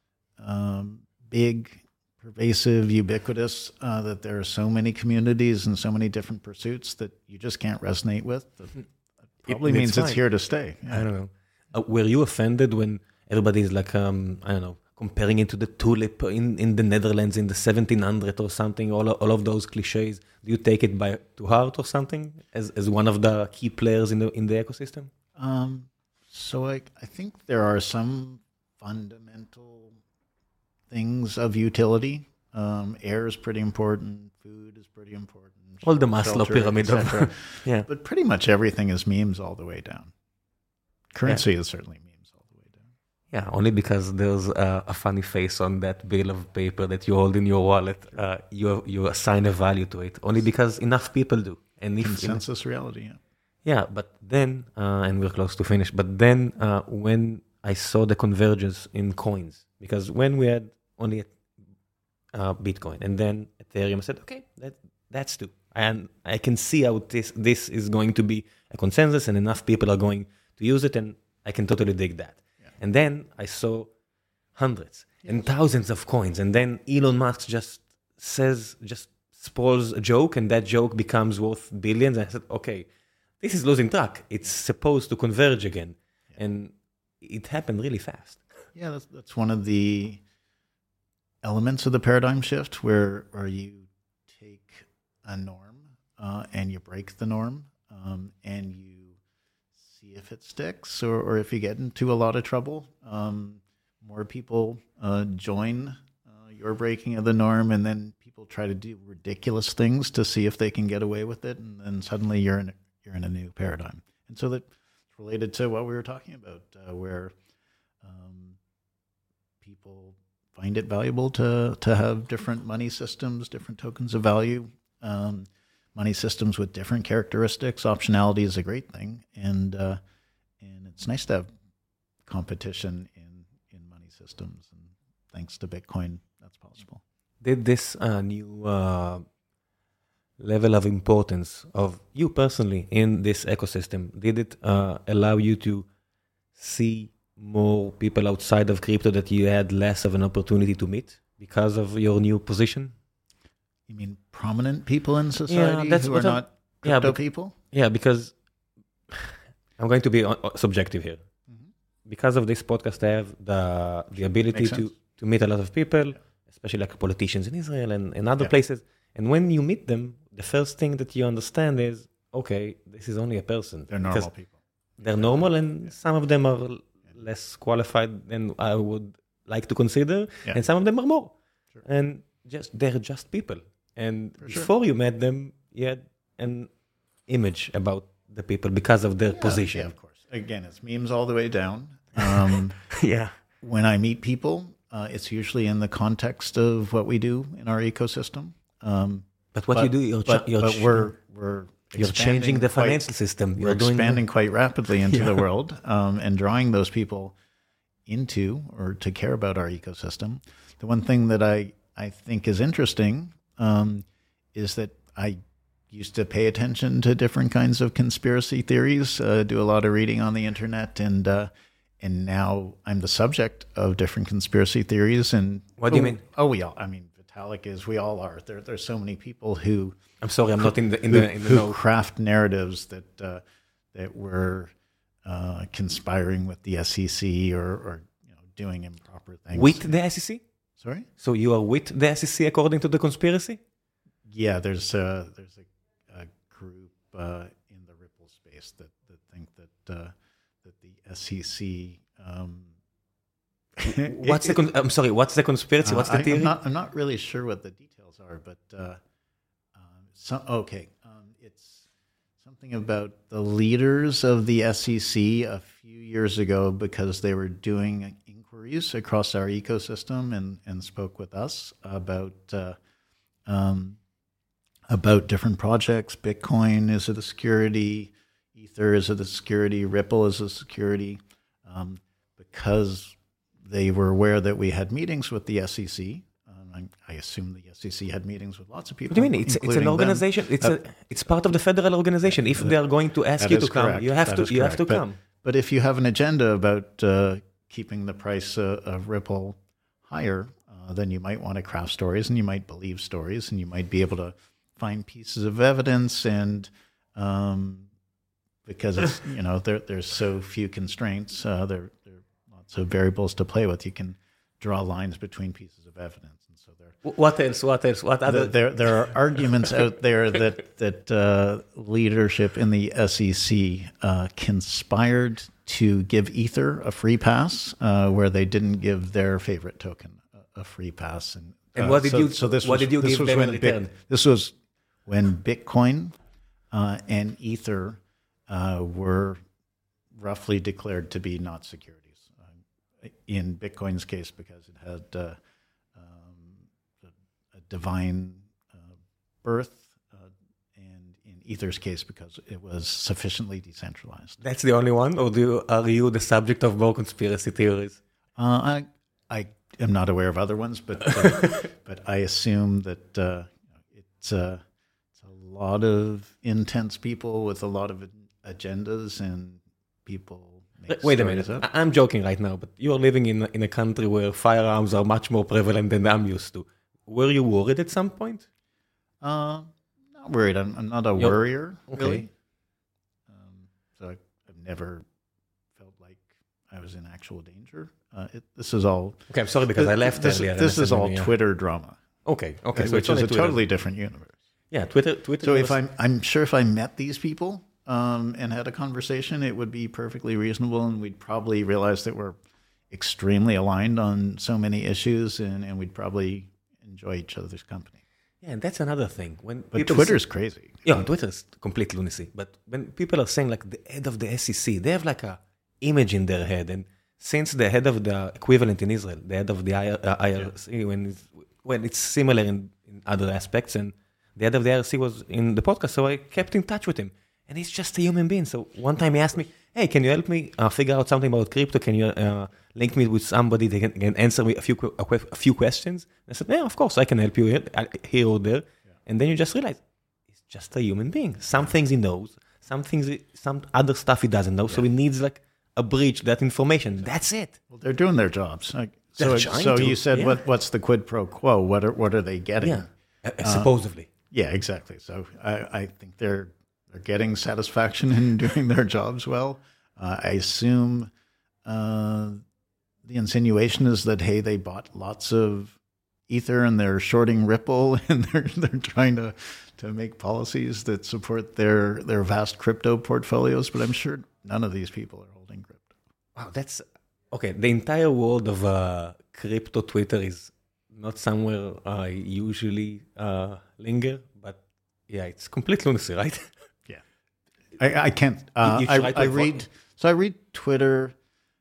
big, pervasive, ubiquitous, that there are so many communities and so many different pursuits that you just can't resonate with, that probably means it's here to stay. Yeah. I don't know. Were you offended when everybody's like, I don't know, comparing it to the tulip in the Netherlands in the 1700 or something, all of those cliches? Do you take it to heart or something as one of the key players in the ecosystem? So I think there are some fundamental things of utility. Air is pretty important. Food is pretty important. All the Maslow pyramid. Yeah. But pretty much everything is memes all the way down. Currency is certainly memes all the way down. Yeah, only because there's a funny face on that bill of paper that you hold in your wallet. You assign a value to it. Only because enough people do. And Consensus reality, yeah. Yeah, but then, and we're close to finish, but then when I saw the convergence in coins, because when we had only Bitcoin and then Ethereum, I said, okay, that's two. And I can see how this is going to be a consensus and enough people are going to use it, and I can totally dig that. Yeah. And then I saw hundreds and thousands of coins, and then Elon Musk just spoils a joke, and that joke becomes worth billions. And I said, okay, this is losing track. It's supposed to converge again. Yeah. And it happened really fast. Yeah, that's one of the elements of the paradigm shift where you take a norm and you break the norm and you see if it sticks or if you get into a lot of trouble. More people join your breaking of the norm, and then people try to do ridiculous things to see if they can get away with it, and then suddenly you're in a new paradigm. And so that's related to what we were talking about, where people find it valuable to have different money systems, different tokens of value, money systems with different characteristics. Optionality is a great thing, and it's nice to have competition in money systems. And thanks to Bitcoin, that's possible. Did this new level of importance of you personally in this ecosystem, did it allow you to see more people outside of crypto that you had less of an opportunity to meet because of your new position? You mean prominent people in society who are not crypto people? Yeah, because I'm going to be subjective here. Mm-hmm. Because of this podcast, I have the ability to meet a lot of people, especially like politicians in Israel and other places. And when you meet them, the first thing that you understand is, okay, this is only a person. They're normal people. They're normal, and some of them are less qualified than I would like to consider, Yeah. and some of them are more. Sure. And they're just people. And For sure. before you met them, you had an image about the people because of their position. Yeah, of course. Again, it's memes all the way down. Yeah. When I meet people, it's usually in the context of what we do in our ecosystem. But what you do, you're changing the financial system. We're expanding quite rapidly into the world and drawing those people into or to care about our ecosystem. The one thing that I think is interesting is that I used to pay attention to different kinds of conspiracy theories, do a lot of reading on the internet, and now I'm the subject of different conspiracy theories. And what do you mean? Oh, Vitalik is. We all are. There's so many people who. I'm sorry, I'm not in the who know. craft narratives that were conspiring with the SEC or doing improper things With the SEC. Sorry. So you are with the SEC according to the conspiracy? Yeah, there's a group in the Ripple space that think that the SEC. I'm sorry. What's the conspiracy? What's the theory? I'm not really sure what the details are, but it's something about the leaders of the SEC a few years ago because they were doing inquiries across our ecosystem and spoke with us about different projects. Bitcoin is a security, Ether is a security, Ripple is a security, because they were aware that we had meetings with the SEC. I assume the SEC had meetings with lots of people. What do you mean? It's an organization. It's part of the federal organization. If they are going to ask you to come, you have to come. But if you have an agenda about keeping the price of Ripple higher, then you might want to craft stories, and you might believe stories, and you might be able to find pieces of evidence, and because it's, there's so few constraints, there are lots of variables to play with. You can draw lines between pieces of evidence. What else? What other? There are arguments out there that leadership in the SEC conspired to give Ether a free pass, where they didn't give their favorite token a free pass. And what did you? So what did you give them in return? This was when Bitcoin and Ether were roughly declared to be not securities. In Bitcoin's case, because it had divine birth, and in Ether's case because it was sufficiently decentralized. That's the only one, or are you the subject of more conspiracy theories? I am not aware of other ones, but but I assume that it's a lot of intense people with a lot of agendas, and people make Wait a minute, up. I'm joking right now, but you're living in a country where firearms are much more prevalent than I'm used to. Were you worried at some point? Not worried. I'm not a worrier, okay. Really. So I've never felt like I was in actual danger. This is all... Okay, I'm sorry because I left earlier. This is all Twitter drama. Okay. So which is a totally different universe. Yeah, Twitter. So I'm sure if I met these people and had a conversation, it would be perfectly reasonable, and we'd probably realize that we're extremely aligned on so many issues, and we'd probably enjoy each other's company. Yeah, and that's another thing. But Twitter's crazy. Yeah, Twitter's complete lunacy. But when people are saying like the head of the SEC, they have like a image in their head. And since the head of the equivalent in Israel, the head of the IRC, when it's similar in other aspects, and the head of the IRC was in the podcast, so I kept in touch with him. And he's just a human being. So one time he asked me, hey, can you help me figure out something about crypto? Can you link me with somebody that can answer me a few questions? And I said, yeah, of course, I can help you here or there. Yeah. And then you just realize, he's just a human being. Some things he knows, some other stuff he doesn't know. Yeah. So he needs like a bridge, that information. That's it. Well, they're doing their jobs. So you said, what's the quid pro quo? What are they getting? Yeah, supposedly. Yeah, exactly. So I think they're getting satisfaction in doing their jobs well. I assume the insinuation is that, hey, they bought lots of Ether and they're shorting Ripple, and they're trying to make policies that support their vast crypto portfolios. But I'm sure none of these people are holding crypto. Wow, that's okay. The entire world of crypto Twitter is not somewhere I usually linger, but yeah, it's complete lunacy, right? Yeah, I can't. I read Twitter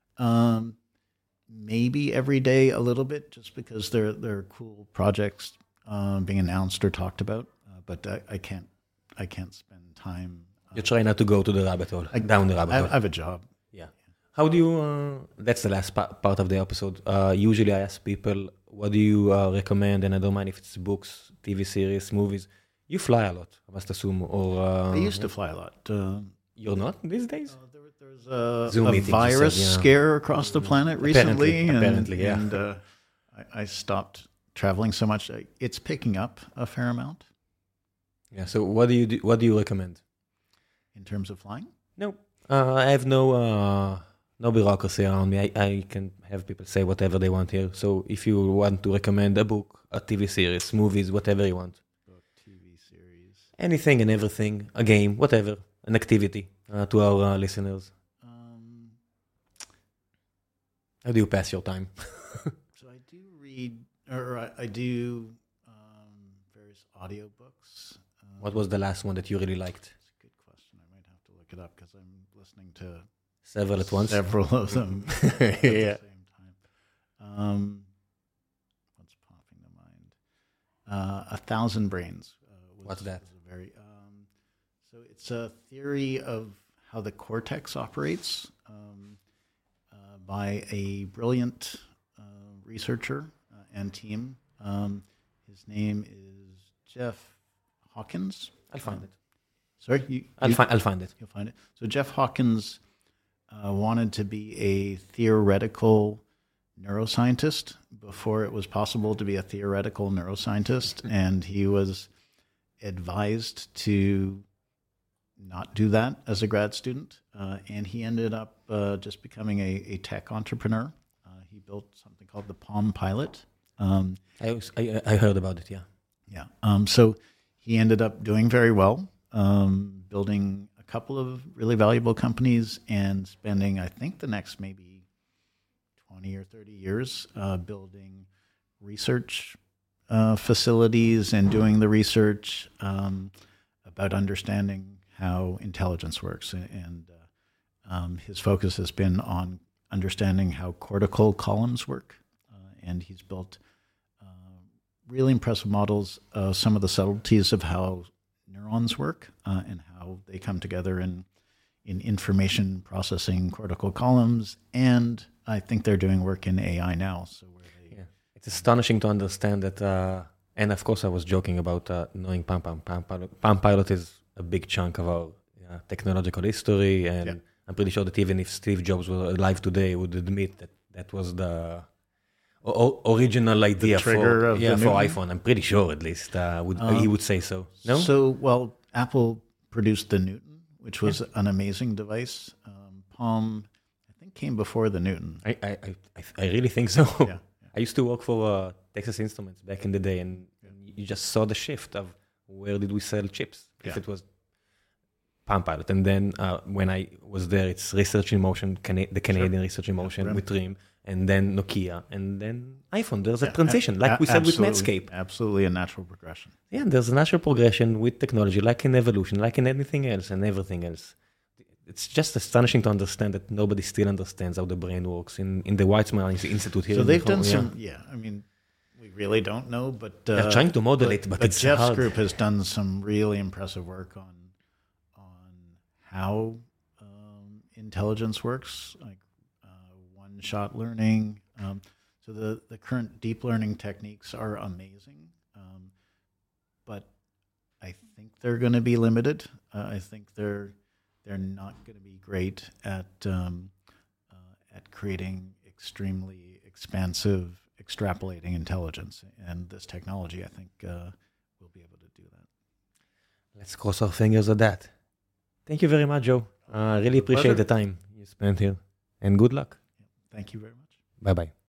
maybe every day a little bit, just because there are cool projects being announced or talked about. But I can't spend time. You try not to go to the rabbit hole, down the rabbit hole. I have a job. Yeah. How do you, that's the last part of the episode. Usually I ask people, what do you recommend? And I don't mind if it's books, TV series, movies. You fly a lot, I must assume. Or I used to fly a lot. You're not these days? There was Zoom a meetings, virus you said, yeah. scare across the planet recently. Apparently, yeah. And I stopped traveling so much. It's picking up a fair amount. Yeah, so what do you do, what do you recommend? In terms of flying? No, I have no bureaucracy around me. I can have people say whatever they want here. So if you want to recommend a book, a TV series, movies, whatever you want. Book, TV series. Anything and everything, a game, whatever, an activity to our listeners. How do you pass your time? So I do read, or I do various audiobooks. What was the last one that you really liked? That's a good question. I might have to look it up because I'm listening to Several at once? Several of them at the same time. What's popping to mind? 1,000 Brains. What's that? Was a very, so it's a theory of how the cortex operates by a brilliant researcher and team. His name is Jeff Hawkins. I'll find it. Sorry? I'll find it. You'll find it. So Jeff Hawkins wanted to be a theoretical neuroscientist before it was possible to be a theoretical neuroscientist, and he was advised to not do that as a grad student, and he ended up just becoming a tech entrepreneur. He built something called the Palm Pilot. I heard about it, yeah. Yeah. So he ended up doing very well, building a couple of really valuable companies and spending, I think, the next maybe 20 or 30 years building research facilities and doing the research about understanding how intelligence works. And his focus has been on understanding how cortical columns work. And he's built really impressive models of some of the subtleties of how neurons work and how they come together in information processing cortical columns. And I think they're doing work in AI now. So it's astonishing to understand that. And of course, I was joking about knowing Palm Pilot is a big chunk of our technological history. And I'm pretty sure that even if Steve Jobs were alive today, would admit that that was the original idea for iPhone. I'm pretty sure, at least, he would say so. No? So, well, Apple produced the Newton, which was an amazing device. Palm, I think, came before the Newton. I really think so. Yeah. I used to work for Texas Instruments back in the day, and you just saw the shift of where did we sell chips. If it was Palm Pilot, and then when I was there, it's Research in Motion, the Canadian Research in Motion with RIM, and then Nokia, and then iPhone. There's a transition, like we said with Netscape. Absolutely a natural progression. Yeah, there's a natural progression with technology, like in evolution, like in anything else and everything else. It's just astonishing to understand that nobody still understands how the brain works in the Weizmann Institute here. So they've done I mean, we really don't know, but they're trying to model it, but it's Jeff's hard. group has done some really impressive work on how intelligence works, like one-shot learning. So the current deep learning techniques are amazing, but I think they're going to be limited. I think they're not going to be great at creating extremely expansive, extrapolating intelligence. And this technology, I think, will be able to do that. Let's cross our fingers at that. Thank you very much, Joe. I really appreciate the time you spent here. And good luck. Thank you very much. Bye-bye.